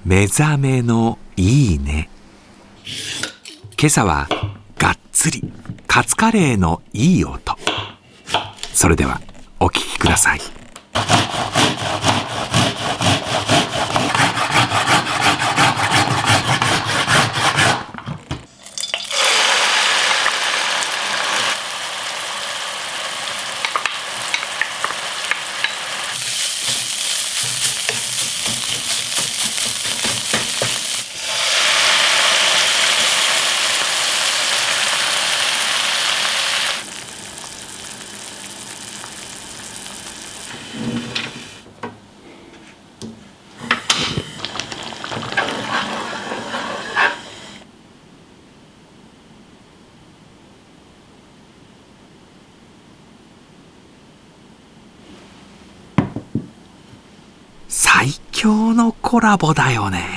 目覚めのいいね。今朝はがっつりカツカレーのいい音。それではお聞きください。最強のコラボだよね。